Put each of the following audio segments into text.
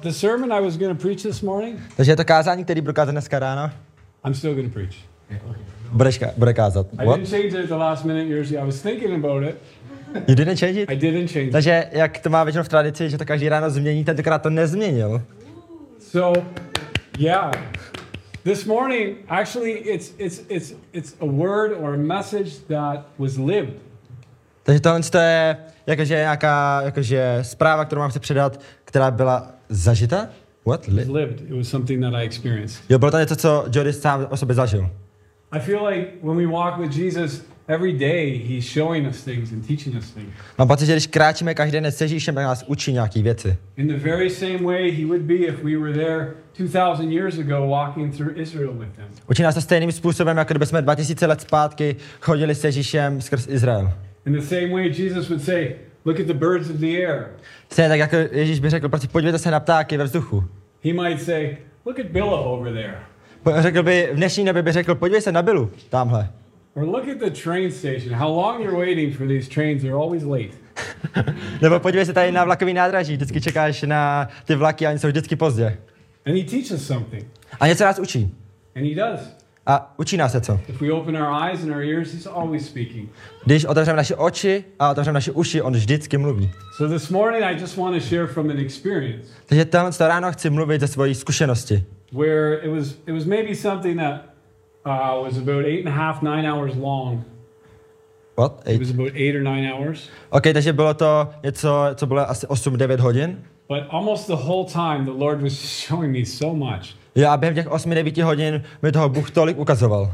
the sermon I was going to preach this morning. Takže je to kázání, který budu kázat dneska ráno. I'm still going to preach. Bude kázat. I didn't change it at the last minute, Jerzy. I was thinking about it. You didn't change it? I didn't change it. Takže jak to má většinou v tradici, že to každý ráno změní, tentokrát to nezměnil. So, yeah. This morning, actually, it's a word or a message that was lived. Takže tohle je nějaká zpráva, kterou mám chci předat, která byla zažita? What? Lived. It was something that I experienced. Jo, bylo to něco, co Jody sám o sobě zažil. I feel like when we walk with Jesus every day, he's showing us things and teaching us things. Mám pocit, že když kráčíme každý den s Ježíšem, tak nás učí nějaký věci. In the very same way he would be if we were there 2000 years ago walking through Israel with him. Učí nás to stejným způsobem, jako kdyby jsme 2000 let zpátky chodili s Ježíšem skrz Izrael. In the same way Jesus would say, look at the birds of the air. Stejně tak, jako Ježíš by řekl, prostě podívejte se na ptáky ve vzduchu. He might say, look at Billa over there. Řekl by, v dnešní době by řekl, podívej se na Billu, tamhle. Or look at the train station. How long you're waiting for these trains, they're always late. Nebo podívej se tady na vlakový nádraží, vždycky čekáš na ty vlaky a oni jsou vždycky pozdě. And he teaches something. A něco nás učí. And he does. A učí nás se co? If we open our eyes and our ears, he's always speaking. Když otevřeme naše oči a otevřeme naše uši, on vždycky mluví. So this morning I just want to share from an experience. Takže tohle ráno chci mluvit ze svojí zkušenosti. Where it was maybe something that was about 8.5, 9 hours long. What? It was about 8 or 9 hours. OK, takže bylo to něco, co bylo asi 8-9 hodin. But almost the whole time the Lord was showing me so much. Jo, a během těch 8-9 hodin mi toho Bůh tolik ukazoval.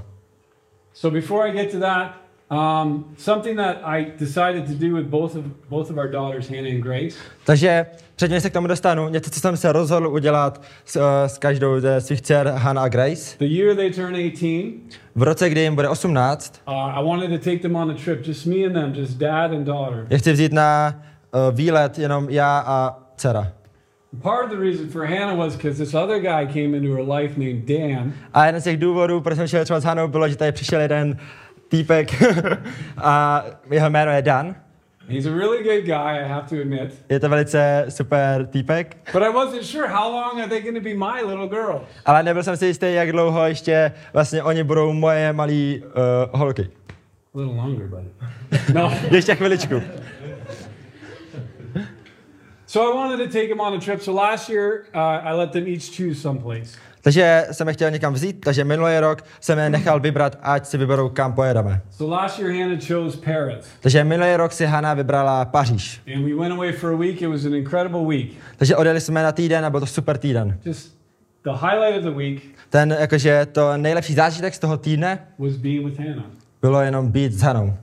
So before I get to that, something that I decided to do with both of our daughters, Hannah and Grace. Takže předtím, než se k tomu dostanu, něco, co jsem se rozhodl udělat s každou ze svých dcer, Hannah a Grace. The year they turn 18. V roce, kdy jim bude 18. I wanted to take them on a trip, just me and them, just dad and daughter. Já chci vzít na výlet jenom já a dcera. Part of the reason for Hannah was because this other guy came into her life named Dan. A jeden z těch důvodů, proč jsem šel třeba s Hanou, bylo, že tady přišel jeden týpek a jeho jméno je Dan. He's a really good guy, I have to admit. Je to velice super týpek. But I wasn't sure how long are they going to be my little girl. Ale nebyl jsem si jistý, jak dlouho ještě vlastně oni budou moje malý holky. A little longer, buddy. No. Ještě chviličku. So I wanted to take them on a trip. So last year, I let them each choose someplace. Takže jsem je chtěl někam vzít, takže minulý rok jsem je nechal vybrat, ať si vyberou, kam pojedeme. So last year Hannah chose Paris. Takže minulý rok si Hannah vybrala Paříž. And we went away for a week. It was an incredible week. Takže odjeli jsme na týden a byl to super týden. Just the highlight of the week. Ten jakože to nejlepší zážitek z toho týdne was being with Hannah. Bylo jenom být s Hanou.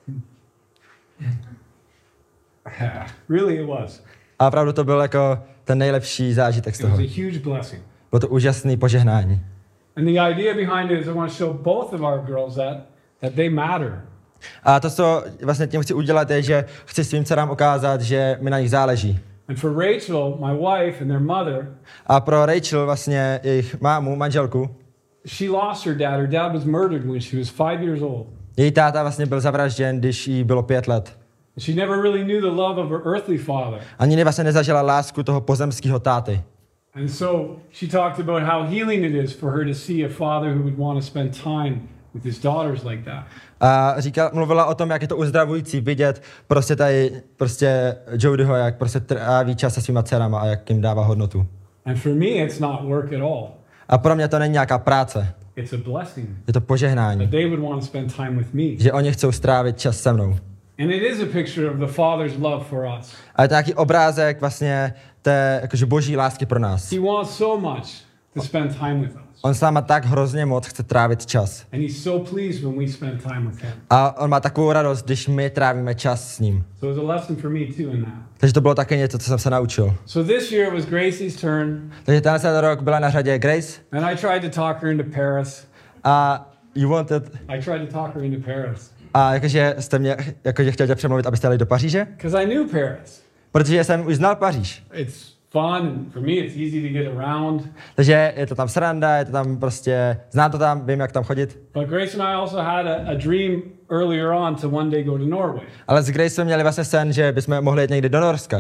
Really it was. A opravdu to byl jako ten nejlepší zážitek z toho. It was a huge blessing. Bylo to úžasné požehnání. And the idea behind it is I want to show both of our girls that they matter. A to, co vlastně tím chci udělat, je, že chci svým dcerám ukázat, že mi na nich záleží. And for Rachel, my wife and their mother, a pro Rachel, vlastně jejich mámu, manželku, she lost her dad. Her dad was murdered when she was 5 years old. Její táta vlastně byl zavražděn, když jí bylo 5 let. She never really knew the love of her earthly father. Ani vlastně nezažila lásku toho pozemského táty. And so she talked about how healing it is for her to see a father who would want to spend time with his daughters like that. A mluvila o tom, jak je to uzdravující vidět Jodyho, jak prostě tráví čas se svýma dcerama a jak jim dává hodnotu. And for me it's not work at all. A pro mě to není nějaká práce. It's a blessing. Je to požehnání. That they would want to spend time with me. Že oni chcou strávit čas se mnou. And it is a picture of the Father's love for us. A je to nějaký obrázek vlastně té jakože boží lásky pro nás. He wants so much to spend time with us. On s náma tak hrozně moc chce trávit čas. And he's so pleased when we spend time with him. A on má takovou radost, když my trávíme čas s ním. So it's a lesson for me too in that. Takže to bylo také něco, co jsem se naučil. So this year was Gracie's turn. Takže tenhle rok byla na řadě Grace. And I tried to talk her into Paris. A you wanted... I tried to talk her into Paris. A jakože jste mě chtěl tě přemluvit, abyste jeli do Paříže? Because I knew Paris. Protože jsem už znal Paříž. It's fun and for me it's easy to get around. Takže je to tam sranda, je to tam prostě, znám to tam, vím, jak tam chodit. But Grace and I also had a dream earlier on to one day go to Norway. Ale s Grace jsme měli vlastně sen, že bychom mohli jít někdy do Norska.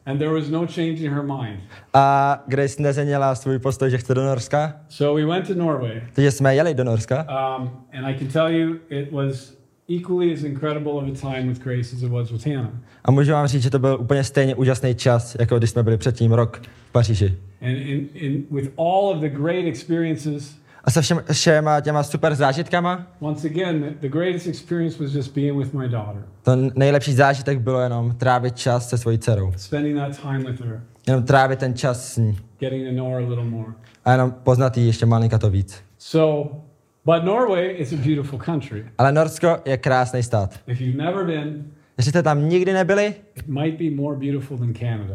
And there was no change in her mind. A Grace nezměnila svůj postoj, že chce do Norska. So we went to Norway. Takže jsme jeli do Norska. And I can tell you it was equally as incredible of a time with Grace as it was with Hannah. A můžu vám říct, že to byl úplně stejně úžasný čas, jako když jsme byli předtím rok v Paříži. And with all of the great experiences, A se všema těma super zážitkama, once again, the greatest experience was just being with my daughter. to nejlepší zážitek bylo jenom trávit čas se svojí dcerou. Spending that time with her, Jenom trávit ten čas s ní. getting to know her a little more. A jenom poznat jí ještě malinka to víc. So, but Norway is a beautiful country. Ale Norsko je krásný stát. If you've never been, Jestli jste tam nikdy nebyli, it might be more beautiful than Canada.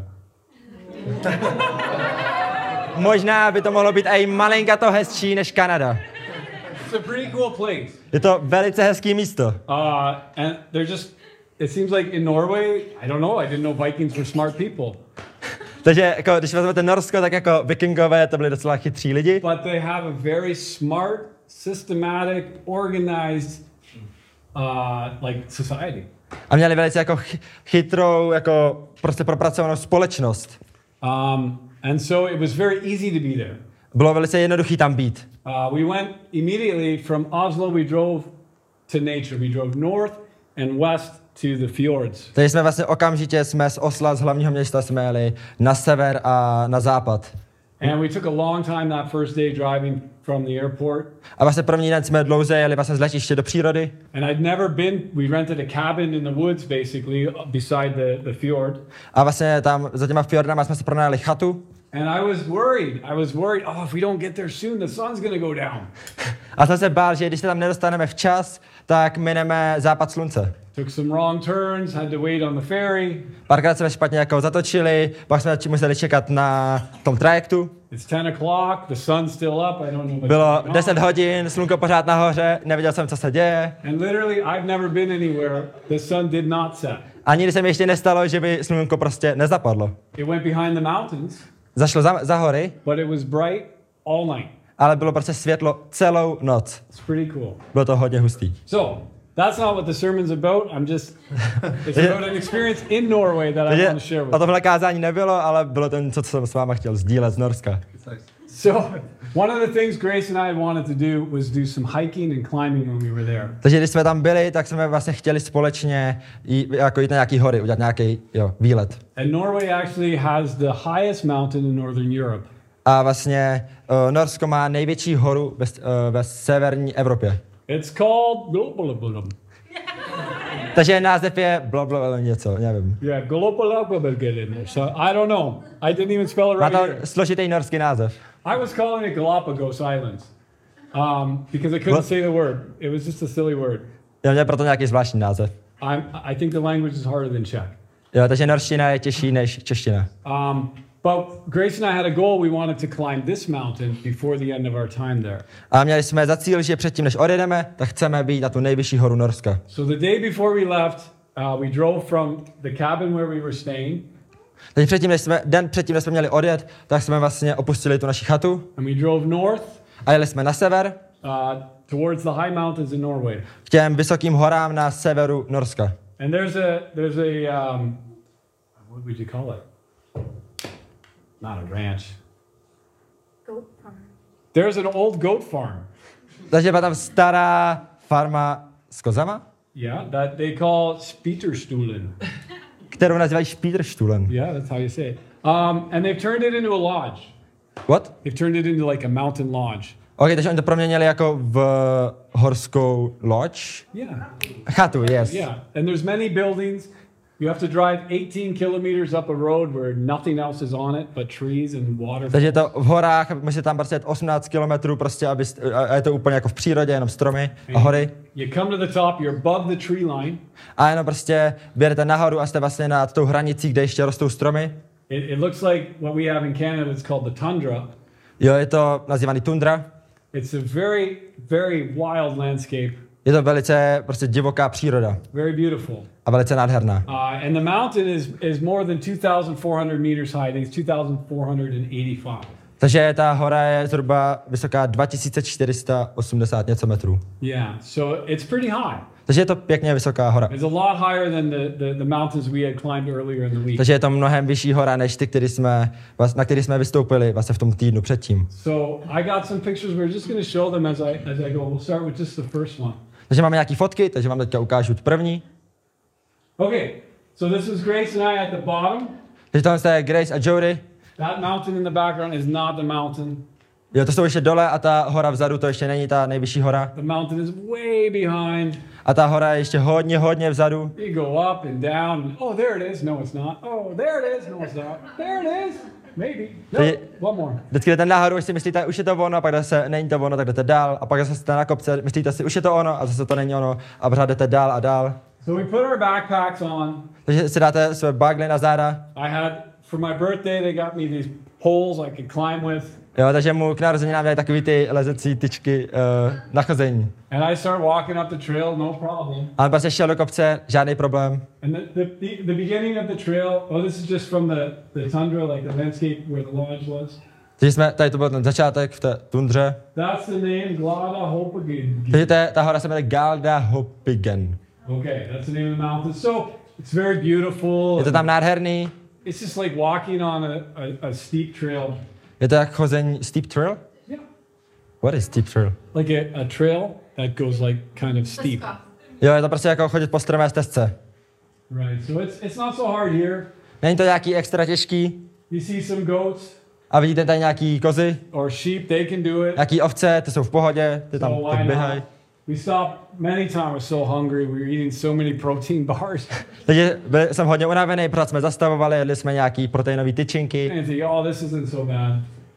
možná by to mohlo být i malinka to hezčí než Kanada. It's a pretty cool place. Je to velice hezký místo. And they're just, it seems like in Norway, I don't know, I didn't know Vikings were smart people. Takže jako, když vezmete Norsko, tak jako vikingové to byli docela chytří lidi. But they have a very smart, systematic, organized, like society. A měli velice jako chytrou, jako prostě propracovanou společnost. And so it was very easy to be there. Bylo velice jednoduchý tam být. We went immediately from Oslo, we drove to nature. We drove north and west to the fjords. Takže jsme vlastně okamžitě z Osla, z hlavního města, jsme jeli na sever a na západ. And we took a long time that first day driving from the airport. A vlastně první den jsme dlouze jeli vlastně z letiště do přírody. And I'd never been, we rented a cabin in the woods basically beside the fjord. A vlastně tam za těma fjordama jsme si pronajali chatu. And I was worried, oh, if we don't get there soon, the sun's going to go down. A jsem se bál, že když se tam nedostaneme včas, tak mineme západ slunce. Took some wrong turns, had to wait on the ferry. Párkrát jsme špatně jako zatočili, pak jsme museli čekat na tom trajektu. It's 10 o'clock, the sun's still up, I don't know what's Bylo going on. 10 hodin, slunko pořád nahoře, nevěděl jsem, co se děje. And literally, I've never been anywhere the sun did not set. A nikdy se mi ještě nestalo, že by slunko prostě nezapadlo. It went behind the mountains, Zašlo za hory, but it was bright all night. ale bylo prostě světlo celou noc. It's pretty cool. Bylo to hodně hustý. So, that's not what the sermon's about. It's about an experience in Norway that I Takže want to share with o you. tohle kázání nebylo, ale bylo to něco, co jsem s váma chtěl sdílet z Norska. So, one of the things Grace and I wanted to do was do some hiking and climbing when we were there. Takže když jsme tam byli, tak jsme vlastně chtěli společně jít na nějaký hory, udělat nějaký výlet. And Norway actually has the highest mountain in Northern Europe. A vlastně Norsko má největší horu ve severní Evropě. It's called Globalabalum. Takže název je blablabla něco, nevím. Yeah, Globalabalum. So I don't know. I didn't even spell it Má right to here. složitý norský název. I was calling it Galapagos Islands because I couldn't What? say the word. It was just a silly word. Já měl proto nějaký zvláštní název. I think the language is harder than Czech. Jo, takže norština je těžší než čeština. But Grace and I had a goal. We wanted to climb this mountain before the end of our time there. A měli jsme za cíl, že předtím, než odjedeme, tak chceme být na tu nejvyšší horu Norska. So the day before we left, we drove from the cabin where we were staying, Takže den předtím, než jsme měli odjet, tak jsme vlastně opustili tu naši chatu and we drove north a jeli jsme na sever towards the high mountains in Norway. k těm vysokým horám na severu Norska. And there's a what would you call it? Not a ranch. Goat farm. There's an old goat farm. Takže byla tam stará farma s kozama, Yeah, that they call Spieterstuhlen. kterou nazývají Spieterstuhlen. Yeah, that's how you say it. And they've turned it into a lodge. What? They've turned it into like a mountain lodge. Ok, takže oni to proměnili jako v horskou loď. Yeah. Chatu, yes. Yeah. And there's many buildings. You have to drive 18 kilometers up a road where nothing else is on it but trees and water. Takže je to v horách, musíte tam prostě jet 18 kilometrů prostě, a je to úplně jako v přírodě, jenom stromy a hory. You come to the top, you're above the tree line. A jenom prostě běžete nahoru a jste vlastně nad tou hranicí, kde ještě rostou stromy. It looks like what we have in Canada, it's called the tundra. Jo, je to nazývaný tundra. It's a very, very wild landscape. Je to velice prostě divoká příroda Very beautiful. a velice nádherná. And the mountain is more than 2,400 meters high. I think it's 2,485. Takže ta hora je zhruba vysoká 2480 něco metrů. Yeah, so it's pretty high. Takže je to pěkně vysoká hora. It's a lot higher than the mountains we had climbed earlier in the week. Takže je to mnohem vyšší hora, než ty, na který jsme vystoupili vlastně v tom týdnu předtím. So I got some pictures. We're just going to show them as I go. We'll start with just the first one. Takže máme nějaký fotky, takže vám teďka ukážu tu první. Okay, so this is Grace and I at the bottom. Takže tohle je Grace a Jody. That mountain in the background is not the mountain. Jo, to jsou ještě dole a ta hora vzadu, to ještě není ta nejvyšší hora. The mountain is way behind. A ta hora je ještě hodně vzadu. You go up and down. Oh, there it is. No, it's not. Oh, there it is. No, it's not. There it is. Maybe. No, one more. Vždycky jdete nahoru, už si myslíte, už je to ono, a pak zase není to ono, tak jdete dál. A pak zase jste na kopce, myslíte si, už je to ono, a zase to není ono. A pořád jdete dál a dál. So we put our backpacks on. Takže si dáte své bagly na záda. I had, for my birthday, they got me these poles I could climb with. Jo, takže mu k narozeninám dali takový ty lezecí tyčky na chození. And I started walking up the trail, no problem. A on prostě šel do kopce, žádný problém. And the beginning of the trail, oh, this is just from the tundra, like the landscape where the lodge was. Takže tady to byl ten začátek v té tundře. That's the name, Glada Hopigan. Takže ta hora se jmenuje Galda Hopigen. Okay, that's the name of the mountain. So it's very beautiful. Je to tam nádherný. It's just like walking on a steep trail. Je to jak chození steep trail? Yeah. What is steep trail? Like a trail that goes like kind of steep. Jo, je to prostě jako chodit po strmé stezce. Right, so it's not so hard here. Není to nějaký extra těžký. You see some goats A vidíte tady nějaký kozy, or sheep, they can do it. nějaký ovce, ty jsou v pohodě, ty tam So tak why běhají. not? We stopped many times, we're so hungry, we were eating so many protein bars. Takže jsem hodně unavený, protože jsme zastavovali, jedli jsme nějaký proteinové tyčinky And think, oh, this isn't so bad.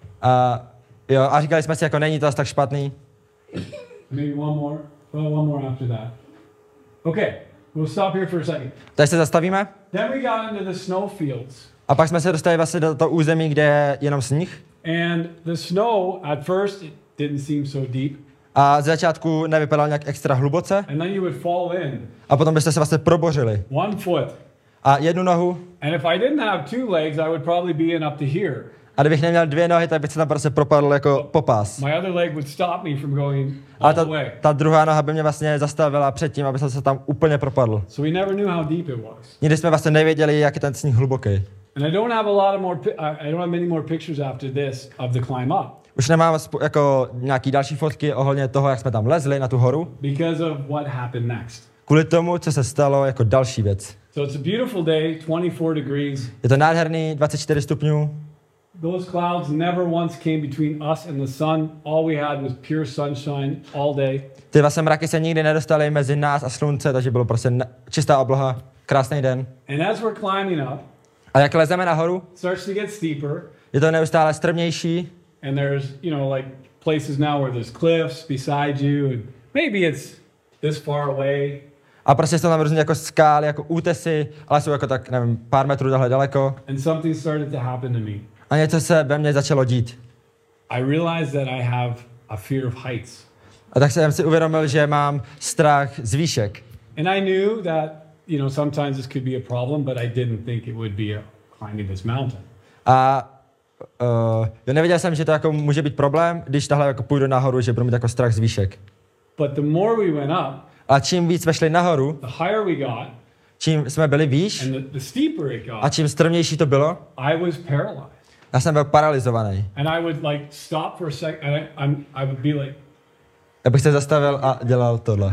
a říkali jsme si, jako není to asi tak špatný. Maybe one more after that. Okay, we'll stop here for a second. Takže se zastavíme Then we got into the snow fields. a pak jsme se dostali vlastně do toho území, kde je jenom sníh. And the snow, at first, it didn't seem so deep. A z začátku nevypadal nějak extra hluboce And then you would fall in a potom byste se vlastně probořili. 1 foot. A jednu nohu, And if I didn't have 2 legs, I would probably be in up to here. a kdybych neměl 2 nohy, tak bych se tam prostě propadl jako popás. My other leg would stop me from going A all the way. ta druhá noha by mě vlastně zastavila předtím, aby jsem se tam úplně propadl. So we never knew how deep it was. Nikdy jsme vlastně nevěděli, jak je ten sníh hluboký. And I don't have a lot of more. I don't have many more pictures after this of the climb up Už nemám jako nějaký další fotky ohledně toho, jak jsme tam lezli na tu horu, because of what happened next. kvůli tomu, co se stalo jako další věc. So it's a beautiful day, 24 degrees. Je to nádherný, 24 stupňů. Those clouds never once came between us and the sun. All we had was pure sunshine all day. Ty vlastně mraky se nikdy nedostaly mezi nás a slunce, takže bylo prostě čistá obloha, krásný den. And as we're climbing up, A jak lezeme nahoru, it starts to get steeper. je to neustále strmější. And there's, like places now where there's cliffs beside you. And maybe it's this far away. A prostě jsou tam různě jako skály, jako útesy, ale jsou jako tak, nevím, pár metrů tahle daleko. And something started to happen to me. A něco se ve mně začalo dít. I realized that I have a fear of heights. A tak jsem si uvědomil, že mám strach z výšek. And I knew that, sometimes this could be a problem, but I didn't think it would be climbing this mountain. A já nevěděl jsem, že to jako může být problém, když tahle jako půjdu nahoru, že budu mít jako strach z výšek. But the more we went up, A čím víc jsme šli nahoru, the higher we got, čím jsme byli výš and the steeper it a got, čím strmější to bylo, I was paralyzed. já jsem byl paralizovaný. And I would like stop for a second, and I would be like Já bych se zastavil a dělal tohle.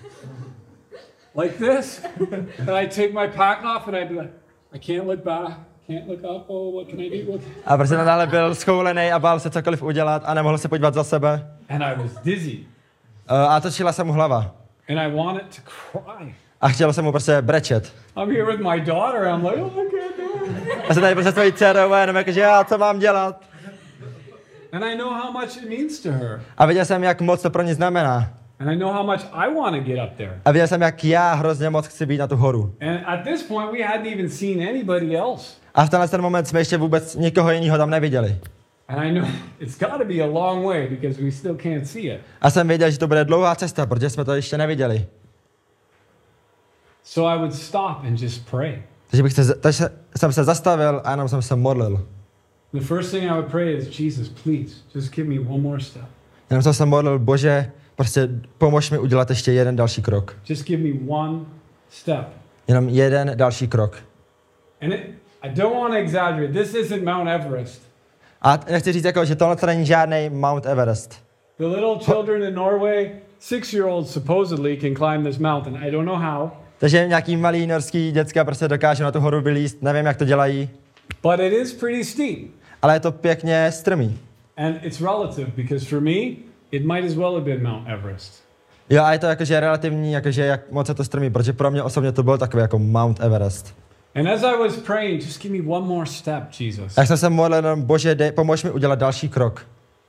this, and I'd take my pack off, and I'd be like, I can't look back, can't look up. Oh, what can I do? A prostě nadále byl schoulený a bál se cokoliv udělat a nemohl se podívat za sebe. And I was dizzy, A točila se mu hlava. and I wanted to cry. A chtěl jsem mu prostě brečet. I'm here with my daughter. I'm like, oh, I can't do it. A jsem tady prostě svojí dcerou a jenom jakože já, co mám dělat? And I know how much it means to her. A viděl jsem, jak moc to pro ní znamená. And I know how much I want to get up there. A viděl jsem, jak já hrozně moc chci být na tu horu. And at this point, we hadn't even seen anybody else. A v tenhle ten moment jsme ještě vůbec nikoho jiného tam neviděli. And I know it's got to be a long way because we still can't see it. A jsem věděl, že to bude dlouhá cesta, protože jsme to ještě neviděli. So I would stop and just pray. Takže jsem se zastavil a jenom jsem se modlil. The first thing I would pray is, Jesus, please, just give me one more step. Jenom jsem se modlil, Bože, prostě pomož mi udělat ještě jeden další krok. Just give me one step. Jenom jeden další krok. And I don't want to exaggerate. This isn't Mount Everest. A nechci říct, jako, že tohle to není žádný Mount Everest. The little children in Norway, 6-year-olds supposedly can climb this mountain. I don't know how. Takže nějaký malý norský děcka prostě dokážou na tu horu vylízt, nevím, jak to dělají, But it is pretty steep. ale je to pěkně strmý. And it's relative because for me, it might as well have been Mount Everest. Jo, a je to jakože relativní, jakože jak moc je to strmý, protože pro mě osobně to byl takový jako Mount Everest. And as I was praying, just give me one more step, Jesus. A jak jsem se modlil, Bože, pomož mi udělat další krok.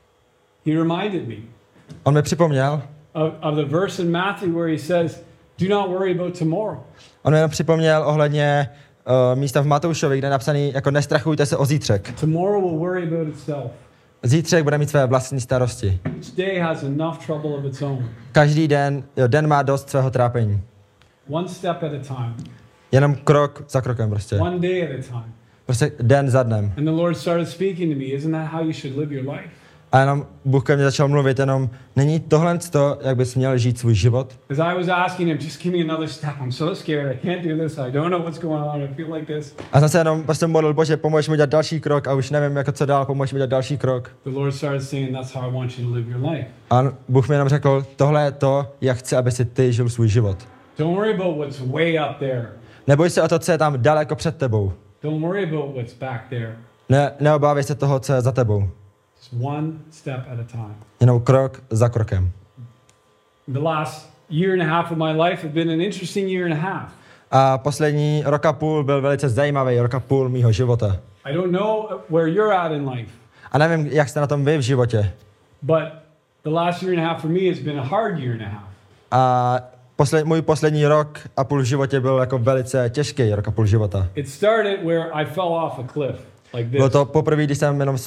He reminded me On mi připomněl, of the verse in Matthew where he says, do not worry about tomorrow. on mi jenom připomněl ohledně místa v Matoušovi, kde je napsaný, jako nestrachujte se o zítřek. Tomorrow will worry about itself. Zítřek bude mít své vlastní starosti. Each day has enough trouble of its own. Každý den, den má dost svého trápení. One step at a time. Jenom krok za krokem prostě. One day at a time. Prostě den za dnem. And the Lord started speaking to me. Isn't that how you should live your life? A jenom Bůh ke mně začal mluvit, jenom není tohle to, jak bys měl žít svůj život? As I was asking him, just give me another step. I'm so scared. I can't do this. I don't know what's going on. I feel like this. A jsem se jenom prostě modlil, Bože, pomož mi udělat další krok a už nevím, jako co dál, pomož mi udělat další krok. The Lord started saying, that's how I want you to live your life. A Bůh mi jenom řekl, tohle je to, jak chci, aby si ty žil svůj život. Don't worry about what's way up there. Neboj se o to, co je tam daleko před tebou. Don't worry about what's back there. Neobávej se toho, co je za tebou. Just one step at a time. Jenom krok za krokem. The last year and a half of my life have been an interesting year and a half. A poslední rok a půl byl velice zajímavý, rok a půl mýho života. I don't know where you're at in life, A nevím, jak jste na tom vy v životě. but the last year and a half for me has been a hard year and a half. A můj poslední rok a půl v životě byl jako velice těžký rok a půl života. It started where I fell off a cliff like Bylo this. to poprvé, když jsem jenom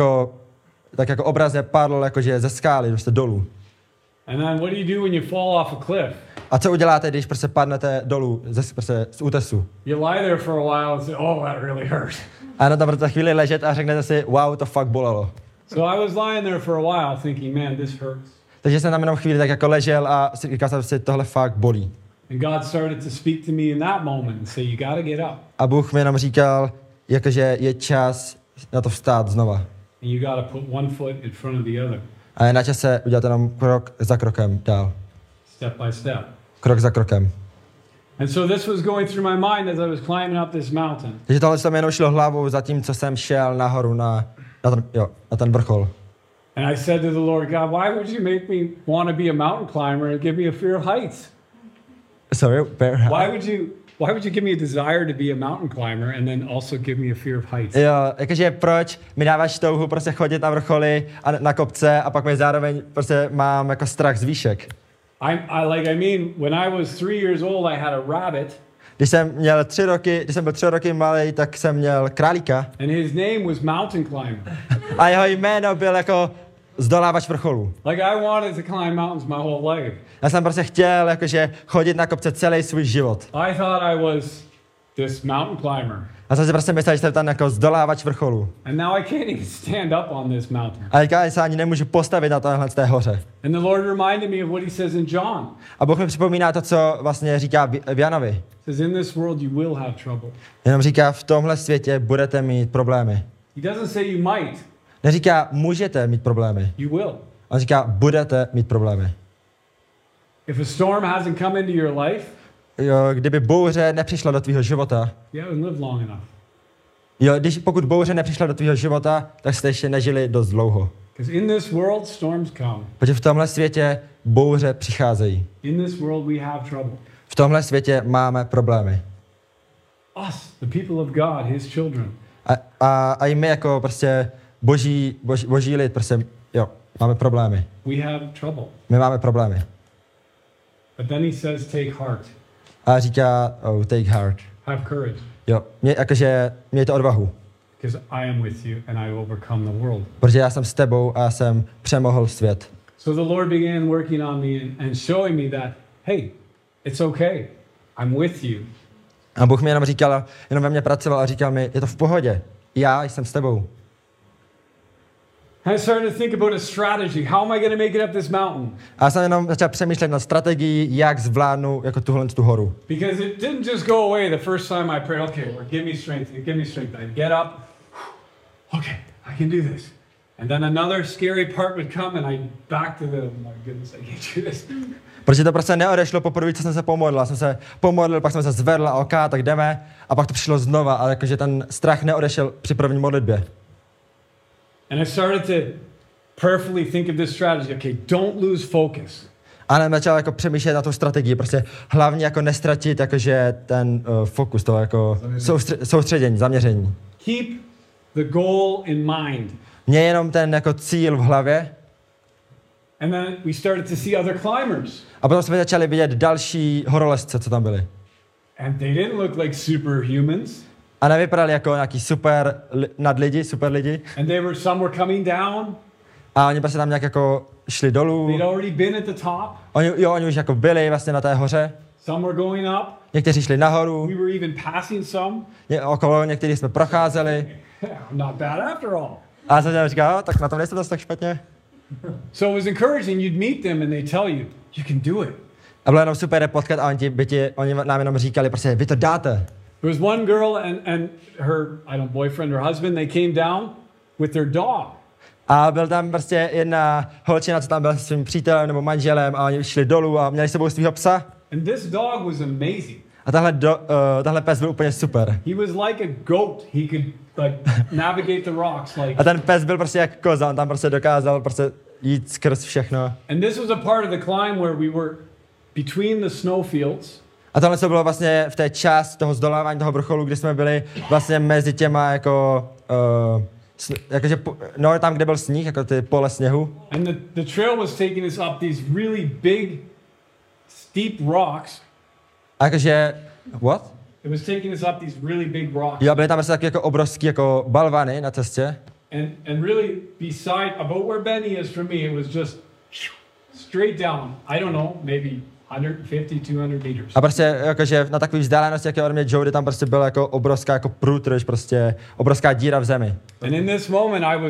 tak jako obrazně padl jakože ze skály, prostě dolů. And then what do you do when you fall off a cliff? A co uděláte, když prostě padnete dolů prostě z útesu? You lie there for a while and say, oh, that really hurt. A na tam budete chvíli ležet a řeknete si, wow, to fakt bolelo. So I was lying there for a while thinking, man, this hurts. Takže jsem tam jenom chvíli tak jako ležel a říkal jsem si, tohle fakt bolí. And God started to speak to me in that moment and say, you got to get up. A Bůh mi jenom říkal, jakože je čas na to vstát znova. And you got to put one foot in front of the other, A je na čase udělat jenom krok za krokem dál. step by step. Krok za krokem. And so this was going through my mind as I was climbing up this mountain. Takže tohle se mi jenom šlo hlavou za tím, co jsem šel nahoru na ten vrchol. And I said to the Lord, God, why would you make me want to be a mountain climber and give me a fear of heights? Sorry, Why would you give me a desire to be a mountain climber and then also give me a fear of heights? Jo, jakože proč mi dáváš touhu prostě chodit na vrcholy a na kopce a pak mi zároveň prostě mám jako strach z výšek. When I was 3 years old, I had a rabbit. Když jsem byl 3 roky malý, tak jsem měl králíka. And his name was Mountain Climber. A jeho jméno byl jako zdolávač vrcholů. Like I wanted to climb mountains my whole life. Já jsem prostě chtěl jakože chodit na kopce celý svůj život. I thought I was this mountain climber. A jsem si prostě myslel, že jsem tam jako zdolávač vrcholů. And now I can't even stand up on this mountain. A teďka se ani nemůžu postavit na téhle z té hoře. And the Lord reminded me of what he says in John. A Bůh mi připomíná to, co vlastně říká v Janovi. He says, in this world you will have trouble. Jenom říká, v tomhle světě budete mít problémy. He doesn't say you might. Neříká, můžete mít problémy. You will. On říká, budete mít problémy. If a storm hasn't come into your life, Jo, kdyby bouře nepřišla do tvýho života, you haven't lived long enough. jo, pokud bouře nepřišla do tvýho života, tak jste ještě nežili dost dlouho. Because in this world storms come. Protože v tomhle světě bouře přicházejí. In this world we have trouble. V tomhle světě máme problémy. Us, the people of God, his children. A i my jako prostě boží lid, prostě, jo, máme problémy. We have trouble. My máme problémy. But then he says, take heart. A říká, oh, take heart. Have courage. Jo, mějte odvahu. Because I am with you and I overcome the world. Protože já jsem s tebou a já jsem přemohl svět. So the Lord began working on me and showing me that, hey, it's okay. I'm with you. A Bůh mi jenom ve mně pracoval a říkal mi, je to v pohodě. Já jsem s tebou. I started to think about a strategy. How am I going to make it up this mountain? A já jsem jenom začal přemýšlet nad strategií, jak zvládnu jako tu horu. Because it didn't just go away the first time I prayed, okay, Lord, give me strength, give me strength. I'd get up, okay, I can do this. And then another scary part would come and I'd back to the, oh my goodness, I can't do this. Protože to prostě neodešlo poprvé, co jsem se pomodlil. Já jsem se pomodlil, pak jsem se zvedl a ok, tak jdeme. A pak to přišlo znova, ale jakože ten strach neodešel při první modlitbě. And I started to prayerfully think of this strategy. Okay, don't lose focus. A já začal jako přemýšlet na tu strategii, prostě hlavně jako nestratit jakože ten fokus, to jako soustředění, zaměření. Keep the goal in mind. Mě jenom ten jako cíl v hlavě. And then we started to see other climbers. A potom jsme začali vidět další horolezce, co tam byli. And they didn't look like superhumans. A nevypadali jako nějaký super lidi. And some were coming down. A oni prostě tam nějak jako šli dolů. They'd already been at the top. Oni už jako byli vlastně na té hoře. Some were going up. Někteří šli nahoru. We were even passing some. Okolo některých jsme procházeli. Not bad after all. A jsem říkal, tak na tom nejste zase tak špatně. So it was encouraging. You'd meet them and they tell you, you can do it. A bylo jenom super potkat a oni nám jenom říkali, prostě vy to dáte. There was one girl and her, boyfriend or husband, they came down with their dog. A byl tam prostě jedna holčina, co tam byla se svým přítelem nebo manželem a oni šli dolů a měli s sebou svýho psa. And this dog was amazing. A tahle pes byl úplně super. He was like a goat. He could like navigate the rocks like. A ten pes byl prostě jak koza, on tam prostě dokázal prostě jít skrz všechno. And this was a part of the climb where we were between the snowfields. A tohle to bylo vlastně v té části toho zdolávání toho vrcholu, kdy jsme byli vlastně mezi těma jako jakože tam, kde byl sníh, jako ty pole sněhu. And the trail was taking us up these really big steep rocks. A jakože what? It was taking us up these really big rocks. Jo, byly tam prostě taky jako obrovský jako balvany na cestě. And really beside about where Benny is from me, it was just straight down. I don't know, maybe 150, 200 meters. A prostě jakože na takové vzdálenosti, jak je ode mě Jody, tam prostě byla jako obrovská jako průtrž, prostě obrovská díra v zemi. And in this moment I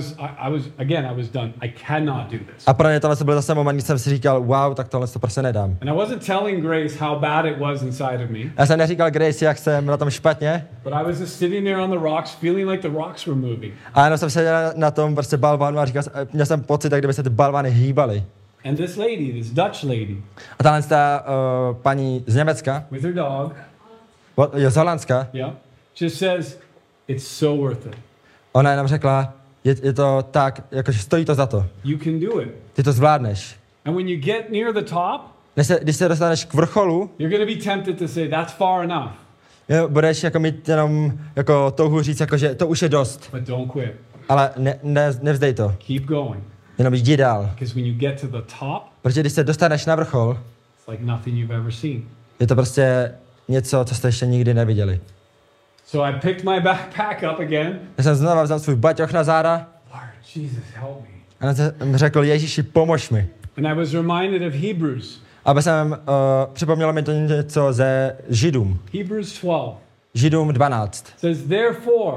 was done. I cannot do this. A pro mě tohle byl zase moment, kdy jsem si říkal, wow, tak tohle to prostě nedám. And I wasn't telling Grace how bad it was inside of me. Já jsem neříkal Grace, jak jsem na tom špatně. But I was just sitting there on the rocks, feeling like the rocks were moving. A jenom jsem seděl na tom prostě balvanu a měl jsem pocit, jak kdyby se ty balvany hýbaly. And this Dutch lady. A tahle ta paní z Německa, with her dog, je z Holandska, yeah, just says, it's so worth it. Ona jenom řekla, je to tak, jakože stojí to za to. You can do it. Ty to zvládneš. And when you get near the top, když se dostaneš k vrcholu, you're going to be tempted to say, that's far enough. Budeš jako mít jenom jako touhu říct, jako, že to už je dost. But don't quit. Ale nevzdej to. Keep going. Jenom jdi dál. Because when you get to the top, protože když se dostaneš na vrchol, it's like nothing you've ever seen. Je to prostě něco, co jste ještě nikdy neviděli. So I picked my backpack up again. Já jsem znovu vzal svůj baťoch na záda. Lord, Jesus, help me. A jsem řekl, Ježíši, pomož mi. And I was reminded of Hebrews. Aby jsem připomnělo mi to něco ze Židům. Hebrews 12. Židům 12. Says therefore.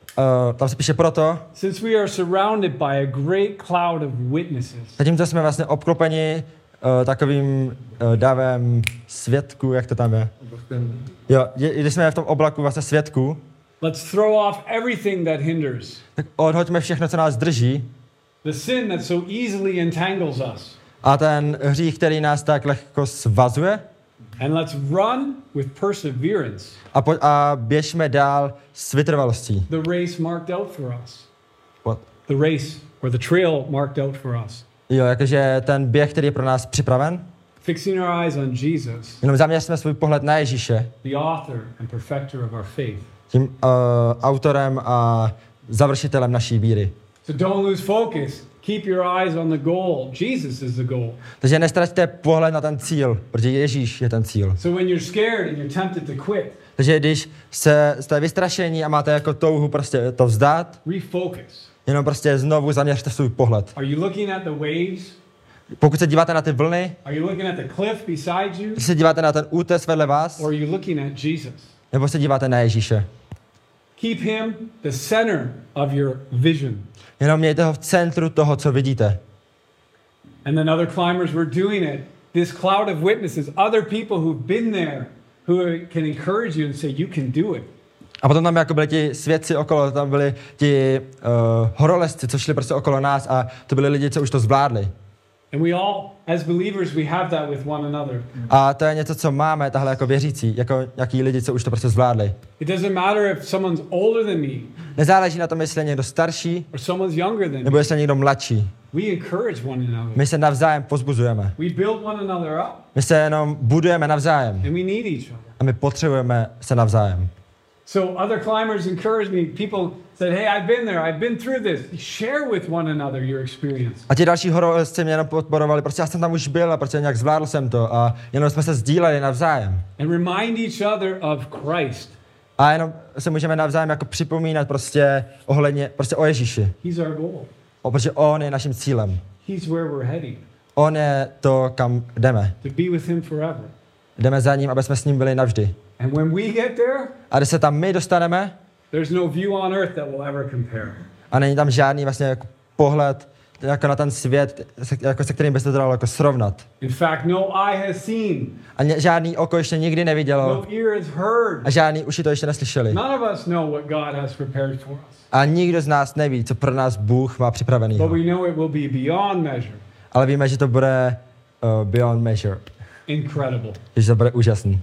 Tam se píše proto. Since we are surrounded by a great cloud of witnesses. Zatímco jsme vlastně obklopeni takovým davem svědků, jak to tam je. Jo, když jsme v tom oblaku vlastně svědků. Let's throw off everything that hinders. Tak odhoďme všechno, co nás drží. The sin that so easily entangles us. A ten hřích, který nás tak lehko svazuje. And let's run with perseverance. A běžme dál s vytrvalostí. The race marked out for us. What? The race or the trail marked out for us. Jo, jakože ten běh, který je pro nás připraven. Fixing our eyes on Jesus. Jenom zaměřme svůj pohled na Ježíše. The author and perfecter of our faith. Tím autorem a završitelem naší víry. So don't lose focus. Keep your eyes on the goal. Jesus is the goal. Takže nestraťte pohled na ten cíl, protože Ježíš je ten cíl. So when you're scared and you're tempted to quit. Takže když jste vystrašení a máte jako touhu prostě to vzdát, refocus. Jenom prostě znovu zaměřte svůj pohled. Are you looking at the waves? Pokud se díváte na ty vlny, are you looking at the cliff beside you? Když se díváte na ten útes vedle vás, or are you looking at Jesus? Nebo se díváte na Ježíše? Keep him the center of your vision. Jenom mějte ho v centru toho, co vidíte. And then other climbers were doing it. This cloud of witnesses, other people who've been there, who can encourage you and say, you can do it. A potom tam jako byli ti svědci okolo, tam byli ti horolezci, co šli prostě okolo nás a to byli lidi, co už to zvládli. And we all, as believers, we have that with one another. A to je něco, co máme tahle jako věřící, jako nějaký lidi, co už to prostě zvládli. It doesn't matter if someone's older than me Nezáleží na tom, jestli je někdo starší, or someone's younger than nebo me. jestli je někdo mladší. We encourage one another. My se navzájem pozbuzujeme. We build one another up, My se jenom budujeme navzájem and we need each other. a my potřebujeme se navzájem. So other climbers encouraged me. People said, hey, I've been there. I've been through this. Share with one another your experience. A ti další horolezci mě jenom podporovali, prostě já jsem tam už byl a prostě nějak zvládl jsem to a jenom jsme se sdíleli navzájem. And remind each other of Christ. A jenom se můžeme navzájem jako připomínat prostě ohledně, prostě o Ježíši. He's our goal. Protože on je naším cílem. He's where we're heading. On je to, kam jdeme. To be with him forever. Jdeme za ním, aby jsme s ním byli navždy. And when we get there, A když se tam my dostaneme, there's no view on earth that will ever compare. a není tam žádný vlastně jako pohled jako na ten svět, se kterým by se to dalo jako srovnat. In fact, no eye has seen, A žádný oko ještě nikdy nevidělo no ear has heard. a žádný uši to ještě neslyšeli. None of us know what God has prepared for us. A nikdo z nás neví, co pro nás Bůh má připravený. But we know it will be beyond measure. Ale víme, že to bude beyond measure. Incredible. Že to bude úžasný.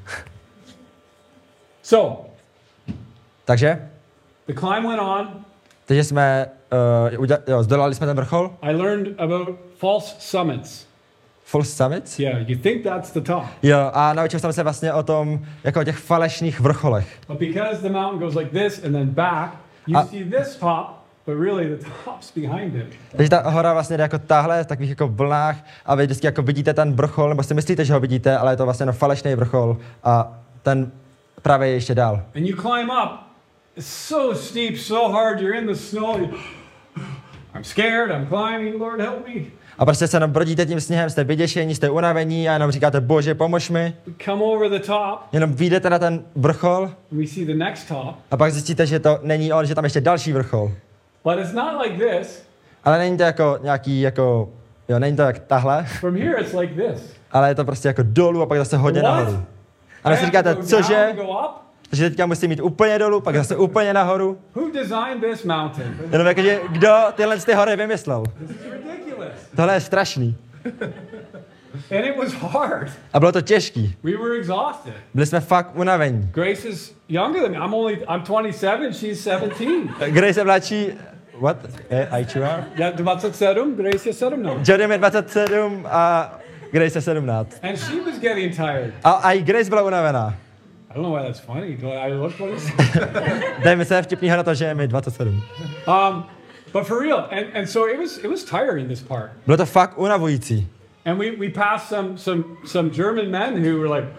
So, Takže, the climb went on. takže jsme zdolali jsme ten vrchol. I learned about false summits. False summits? Yeah, you think that's the top. Jo, a naučil jsem se vlastně o tom, jako o těch falešných vrcholech. But because the mountain goes like this and then back, you see this top, but really the top's behind it. Takže ta hora vlastně jde jako tahle, v takových jako vlnách a vy vždycky jako vidíte ten vrchol, nebo si myslíte, že ho vidíte, ale je to vlastně falešný vrchol a ten právě je ještě dál. And you climb up. It's so steep, so hard, you're in the snow. I'm scared, I'm climbing, Lord help me. A prostě se jenom brodíte tím sněhem, jste vyděšení, jste unavení a jenom říkáte, Bože, pomož mi. We come over the top, Jenom vyjdete na ten vrchol and we see the next top. a pak zjistíte, že to není on, že tam ještě další vrchol. But it's not like this. Ale není to jako nějaký, jako, jo, není to jak tahle, From here it's like this. ale je to prostě jako dolů a pak zase hodně What? nahoru. A vy si I have říkáte, to go cože? down, go up? Že teďka musím jít úplně dolů, pak zase úplně nahoru. Who designed this mountain? Jenom jakože, kdo tyhle ty hory vymyslel? This is ridiculous. Tohle je strašný. And it was hard. A bylo to těžký. We were exhausted. Byli jsme fakt unavení. Grace is younger than me. I'm 27, she's 17. Grace je mladší, what? IQR? Yeah, 27, Grace is 17. Jordan je 27 a Grace je 17. And she was getting tired. A i Grace byla unavená. I don't know why that's funny. Do I look funny? Dejme se vtipnýho na to, že je mi 27. But for real, and so it was tiring, this part. Bylo to fakt unavující. And we passed some German men who were like,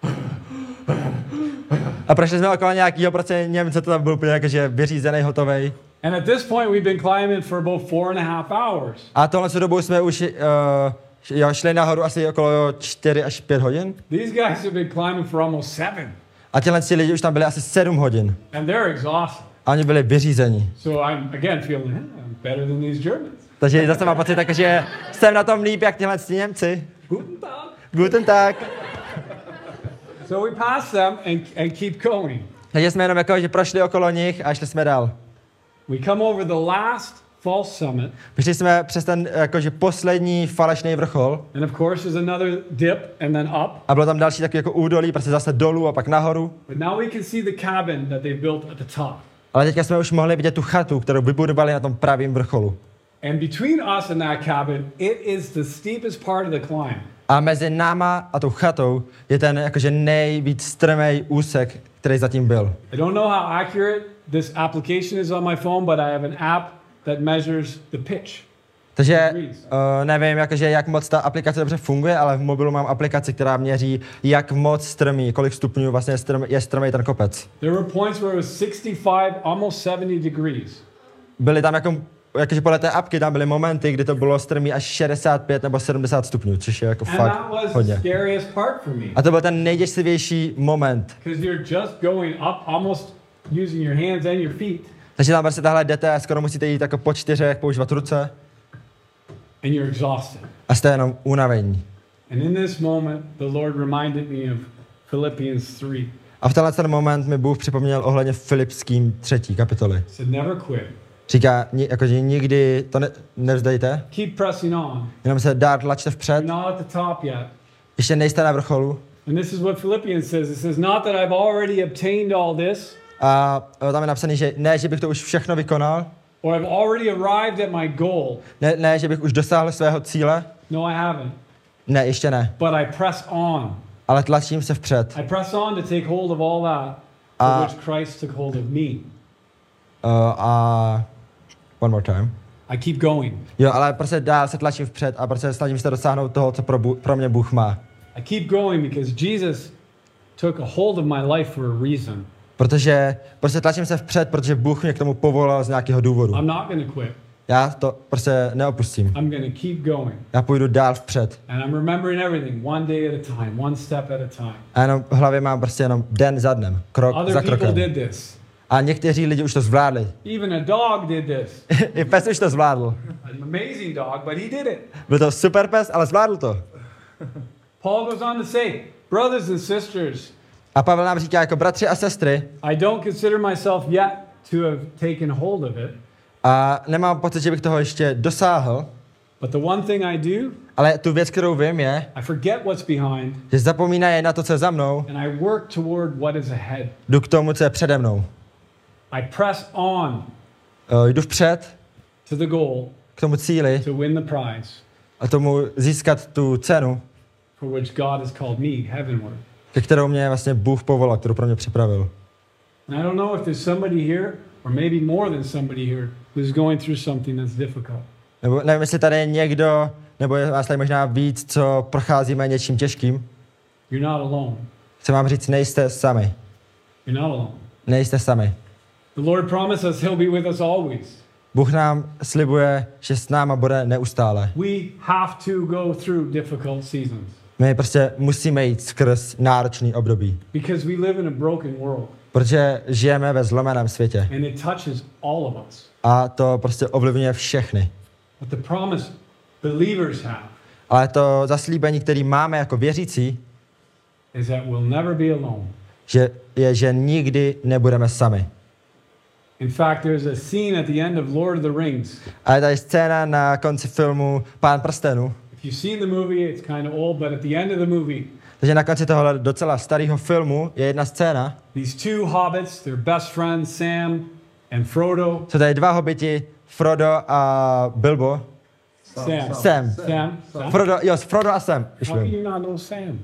A prošli jsme okolo nějakýho prostě Němce, to tam byl úplně jakože vyřízený, hotovej. and at this point we've been climbing for about 4.5 hours. A tohle dobu jsme už šli nahoru asi okolo 4 až 5 hodin. These guys have been climbing for almost 7, A těhle lidi už tam byli asi 7 hodin. and they're exhausted. A oni byli vyřízení. So I'm again feeling, I'm better than these Germans. Takže zase mám pocit tak, že jsem na tom líp, jak tyhle Němci. Guten Tag. Guten Tag. So we passed them and keep going. Takže jsme jenom jako, že prošli okolo nich a šli jsme dál. We come over the last false summit, Přišli jsme přes ten jakože poslední falešný vrchol and of course there's another dip and then up. a bylo tam další takový jako údolí, prostě zase dolů a pak nahoru. But now we can see the cabin that they built at the top. Ale teďka jsme už mohli vidět tu chatu, kterou vybudovali na tom pravém vrcholu. And between us and that cabin, it is the steepest part of the climb. A mezi náma a tou chatou je ten jakože nejvíc strmý úsek, který zatím byl. I don't know how accurate this application is on my phone, but I have an app that measures the pitch. Takže nevím, jakože, jak moc ta aplikace dobře funguje, ale v mobilu mám aplikaci, která měří, jak moc strmý, kolik stupňů vlastně je strmý ten kopec. There were points where it was 65, almost 70 degrees. Byly tam jakože podle té apky tam byly momenty, kdy to bylo strmý až 65 nebo 70 stupňů, což je jako And fakt that was the hodně. scariest part for me. A to byl ten nejděsivější moment, Because you're just going up almost using your hands and your feet, Takže tam prostě tahle jdete a skoro musíte jít jako po 4, používat ruce and you're exhausted. a jste jenom unavení. And in this moment, the Lord reminded me of Philippians 3. A v tenhle ten moment mi Bůh připomněl ohledně Filipským 3. kapitoly. It said, never quit. Říká, jakože nikdy to nevzdejte, Keep pressing on. jenom se dál tlačte vpřed, You're not at the top yet. ještě nejste na vrcholu. And this is what Philippians says. It says, not that I've already obtained all this, A tam je napsaný, že ne, že bych to už všechno vykonal, or I've already arrived at my goal. ne, že bych už dosáhl svého cíle, No, I haven't. ne, ještě ne, But I press on. ale tlačím se vpřed. I press on to take hold of all that for which Christ took hold of me. A one more time. I keep going. Jo, ale prostě dál se tlačím vpřed a prostě snažím se dosáhnout toho, co pro mě Bůh má. I keep going because Jesus took a hold of my life for a reason. Protože prostě tlačím se vpřed, protože Bůh mě k tomu povolal z nějakého důvodu. I'm not going to quit. Já to prostě neopustím. I'm going to keep going. Já půjdu dál vpřed. And I'm remembering everything one day at a time, one step at a time. A jenom v hlavě mám prostě jenom den za dnem, krok za Other people krokem. did this. A někteří lidi už to zvládli. Even a dog did this. I pes už to zvládl. An amazing dog, but he did it. Byl to super pes, ale zvládl to. Paul goes on to say, brothers and sisters, A Pavel nám říká jako bratři a sestry, I don't consider myself yet to have taken hold of it, a nemám pocit, že bych toho ještě dosáhl, but the one thing I do, ale tu věc, kterou vím, je, I forget what's behind že zapomínají na to, co je za mnou, and I work toward what is ahead. jdu k tomu, co je přede mnou. I press on Jdu vpřed to the goal k tomu cíli to win the prize a tomu získat tu cenu, for which God has called me heavenward. ke kterou mě vlastně Bůh povolal, kterou pro mě připravil. And I don't know if there's somebody here, or maybe more than somebody here, who's going through something that's difficult. Nebo nevím, jestli tady je někdo, nebo je vás tady možná víc, co procházíme něčím těžkým. You're not alone. Chci vám říct, nejste sami. You're not alone. Nejste sami. The Lord promised us He'll be with us always. Bůh nám slibuje, že s náma bude neustále. We have to go through difficult seasons My prostě musíme jít skrz náročný období, because we live in a broken world protože žijeme ve zlomeném světě and it touches all of us. a to prostě ovlivňuje všechny. But the promise believers have Ale to zaslíbení, který máme jako věřící, is that we'll never be alone. že nikdy nebudeme sami. In fact, there's a scene at the end of Lord of the Rings. A je tady scéna na konci filmu Pán prstenů. If you've seen the movie, it's kind of old, but at the end of the movie, Takže na konci tohohle docela starého filmu je jedna scéna. these two hobbits, their best friends, Sam and Frodo. Jsou tady dva hobiti, Frodo a Bilbo. Sam. Sam. Sam? Frodo a Sam. Už How can vím. you not know Sam?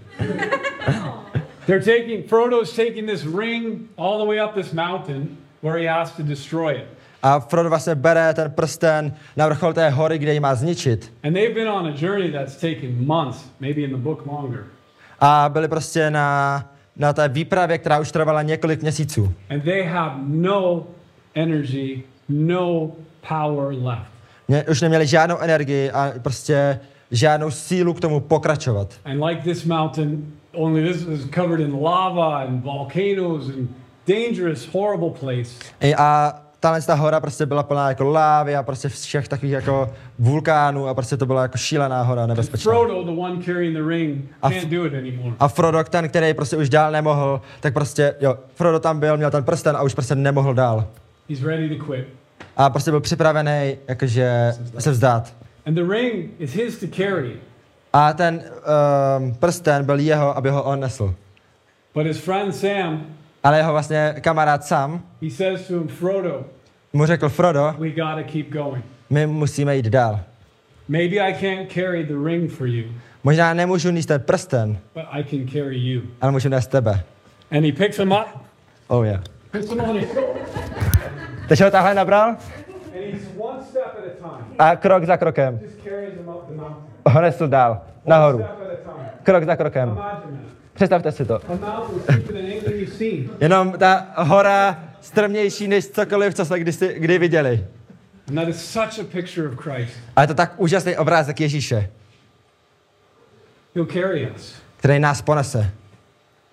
Frodo's taking this ring all the way up this mountain where he has to destroy it. A Frodo vlastně bere ten prsten na vrchol té hory, kde ji má zničit. And they've been on a journey that's taken months, maybe in the book longer. A byli prostě na té výpravě, která už trvala několik měsíců. And they have no energy, no power left. Už neměli žádnou energii a prostě žádnou sílu k tomu pokračovat. And like this mountain, only this is covered in lava and volcanoes and dangerous, horrible place. A ta hora prostě byla plná jako lávy a prostě všech takových jako vulkánů a prostě to byla jako šílená hora, nebezpečná. Frodo, the one carrying the ring, can't do it anymore. A Frodo, ten, který prostě už dál nemohl, tak prostě, Frodo tam byl, měl ten prsten a už prostě nemohl dál. He's ready to quit. A prostě byl připravený jakože se vzdát. And the ring is his to carry. A ten prsten byl jeho, aby ho on nesl. But his friend Sam, Ale jeho vlastně kamarád Sam he says to him, Frodo, mu řekl, Frodo, we gotta keep going. my musíme jít dál. Maybe I can't carry the ring for you, Možná nemůžu nést ten prsten, but I can carry you. ale můžu nést tebe. And he picks him up, Oh yeah. puts him on his shoulder, Takže ho takhle nabral and he's one step at a time. a krok za krokem Just carries him up the mountain. ho nesl dál, One nahoru. step at a time. Krok za krokem. Imagine that. Představte si to. A mountain steeper than anything you've seen. Jenom ta hora strmější než cokoliv, co jsme kdy viděli. And that is such a picture of Christ. A je to tak úžasný obrázek Ježíše, He'll carry us. který nás ponese.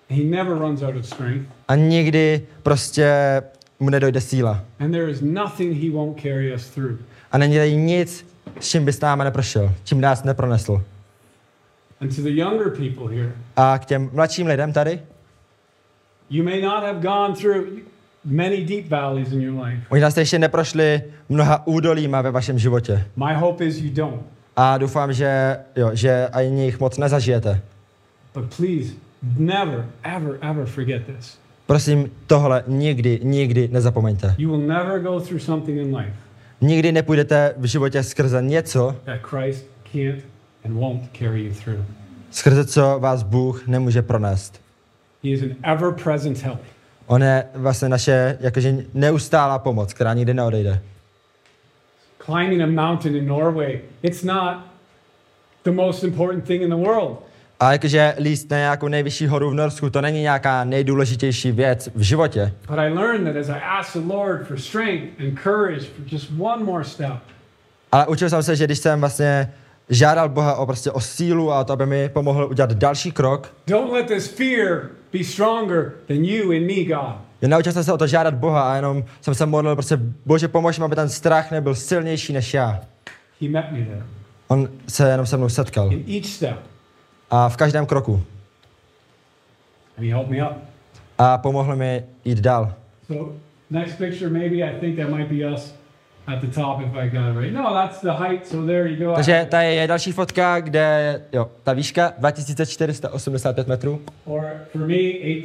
He never runs out of strength. A nikdy prostě mu nedojde síla. And there is nothing he won't carry us through. A není tady nic, s čím by s námi neprošel, čím nás nepronesl. And to the younger people here, A k těm mladším lidem tady, you may not have gone through many deep valleys in your life. možná jste ještě neprošli mnoha údolíma ve vašem životě. My hope is you don't. A doufám, že ani jich moc nezažijete. But please, never, ever forget this. Prosím, tohle nikdy nezapomeňte. You will never go through something in life Nikdy nepůjdete v životě skrze něco, that Christ can't and won't carry you through. skrze co vás Bůh nemůže pronést. He is an ever-present help. On je vlastně naše jakože neustálá pomoc, která nikdy neodejde. Climbing a mountain in Norway, it's not the most important thing in the world. A jakože líst na nějakou nejvyšší horu v Norsku, to není nějaká nejdůležitější věc v životě. But I learned that as I asked the Lord for strength and courage for just one more step, Ale učil jsem se, že když jsem vlastně žádal Boha o sílu a o to, aby mi pomohl udělat další krok, don't let this fear be stronger than you and me, God. naučil jsem se o to žádat Boha a jenom jsem se modlil, Bože, pomož mi, aby ten strach nebyl silnější než já. He met me there. On se jenom se mnou setkal. In each step, A v každém kroku. and he helped me up. A pomohl mi jít dál. So next picture, maybe I think that might be us at the top if I got it right. No, that's the height, so there you go. Takže tady je další fotka, kde, ta výška 2485 metrů. Or for me,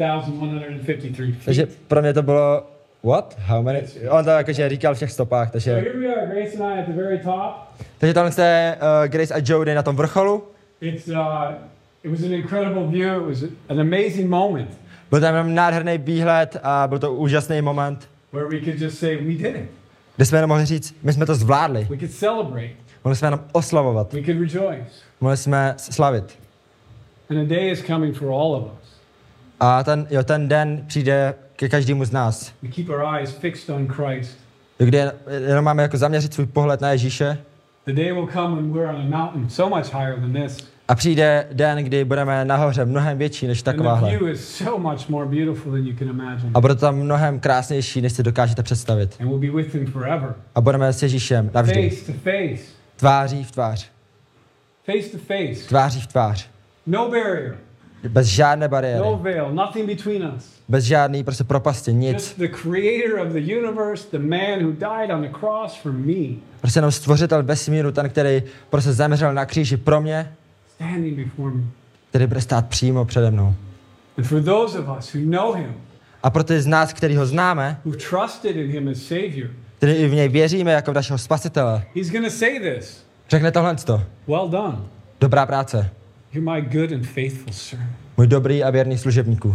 8,153 feet. Takže pro mě to bylo, what? How many? On to jakože říkal v těch stopách, So takže... here we are, Grace and I at the very top. Takže tohle je Grace a Jody na tom vrcholu. It was an incredible view. It was an amazing moment Byl tam jenom nádherný výhled a byl to úžasný moment, where we could just say, we did it. kde jsme jenom mohli říct, my jsme to zvládli. We could celebrate. Mohli jsme jenom oslavovat. We could rejoice. Mohli jsme slavit. And a day is coming for all of us. A ten den přijde ke každému z nás, We keep our eyes fixed on Christ. kde jenom máme jako zaměřit svůj pohled na Ježíše. The day will come when we're on a mountain so much higher than this. A přijde den, kdy budeme nahoře mnohem větší než And the takováhle. view is so much more beautiful than you can imagine. A bude to tam mnohem krásnější, než si dokážete představit. And we'll be with him forever. A budeme s Ježíšem navždy. Face to face. Tváří v tvář. Face to face. Tváří v tvář. No barrier. Bez žádné bariéry. No veil. Nothing between us. Bez žádný propasti, nic. Just the creator of the universe, the man who died on the cross for me, Prostě jenom stvořitel vesmíru, ten, který prostě zemřel na kříži pro mě, standing before me. který bude stát přímo přede mnou. And for those of us who know him, A pro ty z nás, který ho známe, who trusted in him as Savior, který i v něj věříme jako v našeho spasitele, he's going to say this. řekne tohleto. Well done. Dobrá práce. You're my good and faithful servant. Můj dobrý a věrný služebníku.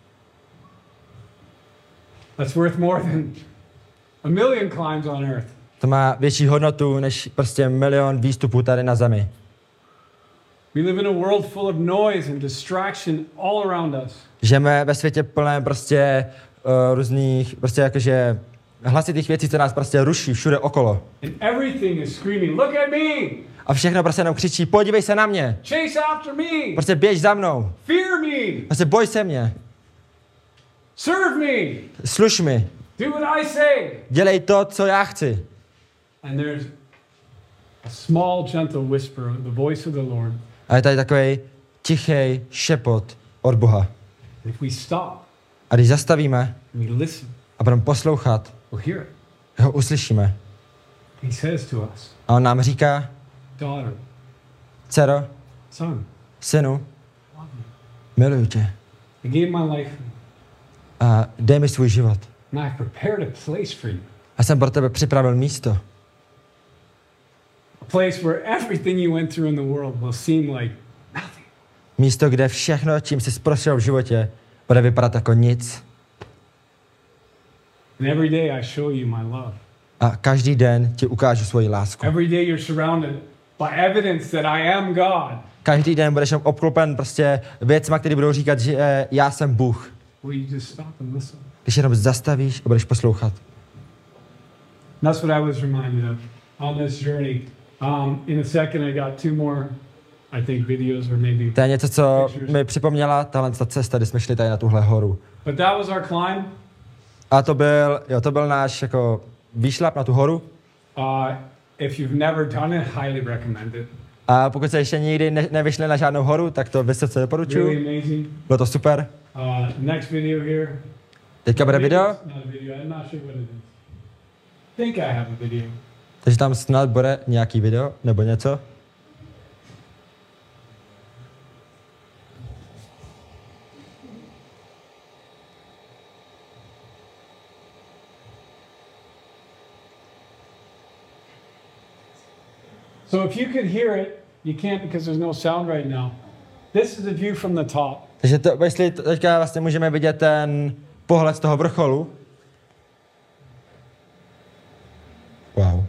That's worth more than a million climbs on earth. To má větší hodnotu než prostě milion výstupů tady na zemi. We live in a world full of noise and distraction all around us. Žijeme ve světě plném prostě různých, prostě jakože hlasitých věcí, co nás prostě ruší všude okolo. And everything is screaming, look at me! A všechno prostě jenom křičí, podívej se na mě, Chase after me! prostě běž za mnou, Fear me! prostě boj se mě, Serve me! služ mi, Do what I say! dělej to, co já chci. And there's a small, gentle whisper, the voice of the Lord. A je tady takový tichý šepot od Boha. If we stop A když zastavíme and we listen, a budeme poslouchat, we'll hear it. ho uslyšíme. He says to us, A on nám říká, daughter, dcero, son, synu, love me. miluju tě I gave my life a dej mi svůj život. and I've prepared a place for you. A jsem pro tebe připravil místo. A place where everything you went through in the world will seem like nothing. Místo, kde všechno, čím jsi prošel v životě, bude vypadat jako nic. And every day I show you my love. A každý den ti ukážu svoji lásku. Every day you're surrounded by evidence that I am God. Každý den budeš obklopen prostě věcma, které budou říkat, že já jsem Bůh. Will you just stop and listen? Když jenom zastavíš a budeš poslouchat. That's what I was reminded of on this journey. In a second, I got two more I think, videos or maybe. To je něco, co mi připomněla tahle ta cesta, kdy jsme šli tady na tuhle horu. But that was our climb. A to byl náš jako výšlap na tu horu. If you've never done it, highly recommend it. A pokud jste ještě nikdy nevyšli na žádnou horu, tak to vysoce doporučuji. Really amazing. Bylo to super. Next video here. Teďka bude video. Not a video. I'm not sure what it is. Think I have a video. Takže tam snad bude nějaký video nebo něco. So if you could hear it, you can't because there's no sound right now. This is a view from the top. Takže jestli teďka vlastně můžeme vidět ten pohled z toho vrcholu. Wow.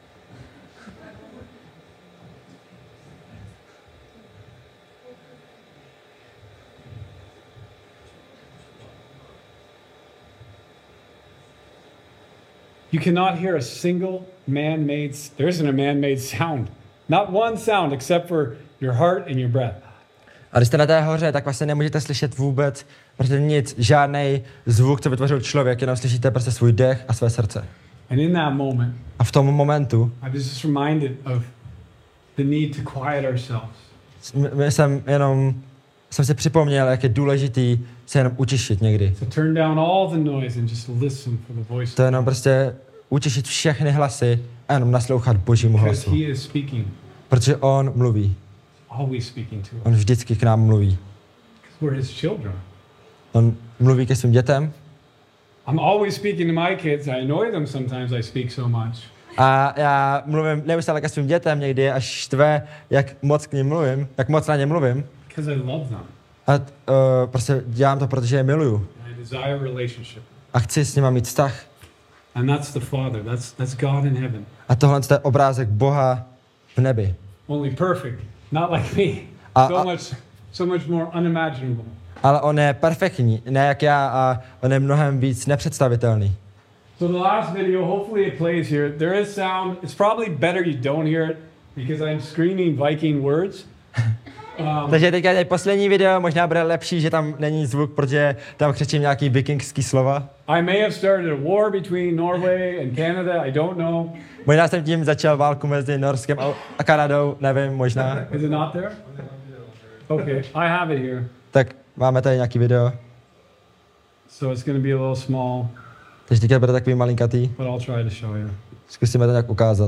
You cannot hear a single man-made, there isn't a man-made sound. Not one sound except for your heart and your breath. A když jste na té hoře, tak vlastně nemůžete slyšet vůbec prostě nic, žádný zvuk, co vytvořil člověk, jenom slyšíte prostě svůj dech a své srdce. And in that moment, A v tom momentu I was just reminded of the need to quiet ourselves. jsem si připomněl, jak je důležitý se jenom utišit někdy. To turn down all the noise and just listen for the voice. To je jenom prostě utišit všechny hlasy a jenom naslouchat Božímu Because hlasu. he is speaking, Protože on mluví. always speaking to us. On vždycky k nám mluví. We're his children. On mluví ke svým dětem. I'm always speaking to my kids. I annoy them sometimes I speak so much. A já mluvím neustále ke svým dětem, někdy až štve, jak moc k ním mluvím, jak moc na ně mluvím. Because I love them. A prostě dělám to, protože je miluju. I desire relationship. A chci s nima mít vztah. And that's the Father. That's God in heaven. A tohle je obrázek Boha v nebi. Only perfect. Not like me. So much more unimaginable. Ale on je perfektní, ne jak já, a on je mnohem víc nepředstavitelný. So the last video, hopefully it plays here. There is sound. It's probably better you don't hear it because I'm screaming Viking words. Takže teďka je poslední video, možná bude lepší, že tam není zvuk, protože tam křičím nějaký vikingský slova. I may have started a war between Norway and Canada. I don't know. Možná jsem tím začal válku mezi Norskem a Kanadou, nevím, možná. Is it not there? Okay, I have it here. Tak máme tady nějaký video. So it's going to be a little small, Takže teďka bude takový malinkatý. but I'll try to show you. Zkusíme to nějak ukázat.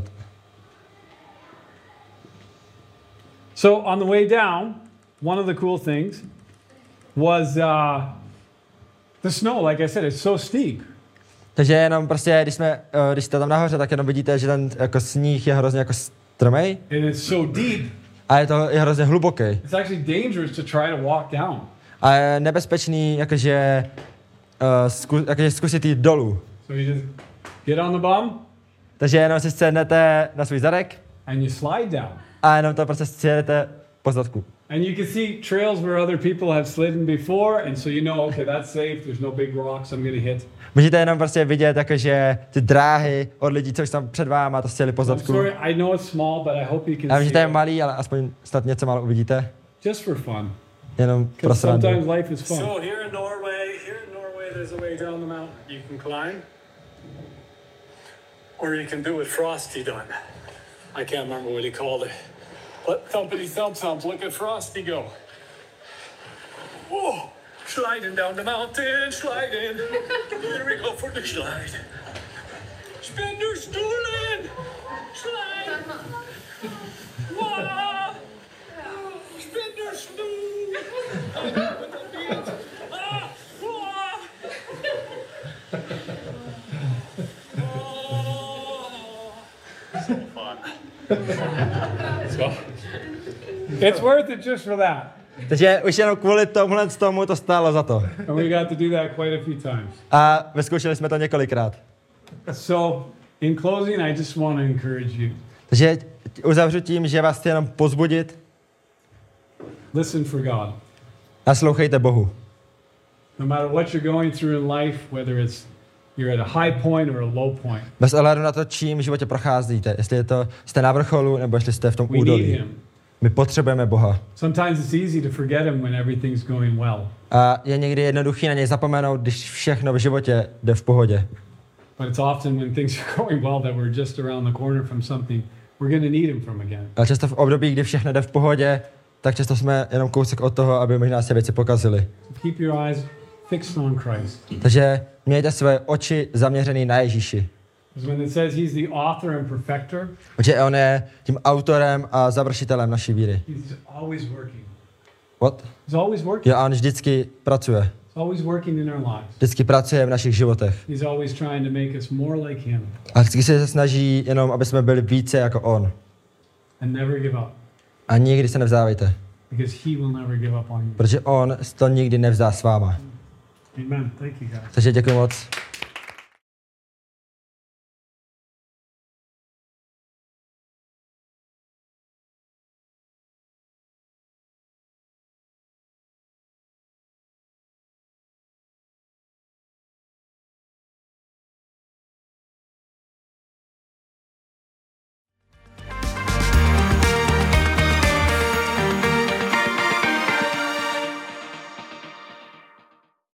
So on the way down, one of the cool things was the snow. Like I said, it's so steep. Takže jenom prostě, když jste tam nahoře, tak jenom vidíte, že ten jako sníh je hrozně jako strmej And it's so deep, a je hrozně hluboký. it's actually dangerous to try to walk down. A je nebezpečný, jakože zkusit jít dolů. So you just get on the bum Takže jenom si sednete na svůj zadek and you slide down. a jenom to prostě sjedete po zadku. And you can see trails where other people have slidden before, and so you know, okay, that's safe. There's no big rocks I'm gonna hit. Můžete jenom prostě vidět, jakože ty dráhy od lidí, co už tam před váma to sjeli po I'm zadku. sorry, I know it's small, but I hope you Já can vím, že see to je it. malý, ale aspoň snad něco málo uvidíte. Just for fun. Jenom pro Because srandu. sometimes life is fun. So here in Norway, there's a way down the mountain. You can climb, or you can do what Frosty done. I can't remember what he called it. But thumpity thump, look at Frosty go. Whoa, sliding down the mountain, sliding. Here we go for the slide. Spenderstoolen, slide. Whoa, Spenderstool. So fun. So, it's worth it just for that. Takže už jenom kvůli tomu to stálo za to. And we got to do that quite a few times. A vyzkoušeli jsme to několikrát. So, in closing, I just want to encourage you. Takže uzavřu tím, že vás chci jenom pozbudit. Listen for God. Naslouchejte Bohu. No matter what you're going through in life, whether you're at a high point or a low point, Bez ohledu na to, čím v životě procházíte. Jestli jste na vrcholu, nebo jestli jste v tom we need údolí. Him. My potřebujeme Boha. Sometimes it's easy to forget him when everything's going well. A je někdy jednoduchý na něj zapomenout, když všechno v životě jde v pohodě. But it's often when things are going well that we're just around the corner from something we're going to need him from again. Ale často v období, kdy všechno jde v pohodě, tak často jsme jenom kousek od toho, aby možná se věci pokazily. So keep your eyes fixed on Christ. Takže mějte své oči zaměřené na Ježíši. Because when it says he's the author and perfecter, Protože on je tím autorem a završitelem naší víry. he's always working. What? He's always working. Jo, a on vždycky pracuje. He's always working in our lives. Vždycky pracuje v našich životech. He's always trying to make us more like him A vždycky se snaží jenom, aby jsme byli více jako on. and never give up. A nikdy se nevzdávejte. Because he will never give up on you. Protože on to nikdy nevzdá s váma. Amen. Thank you, guys. Takže děkuji moc.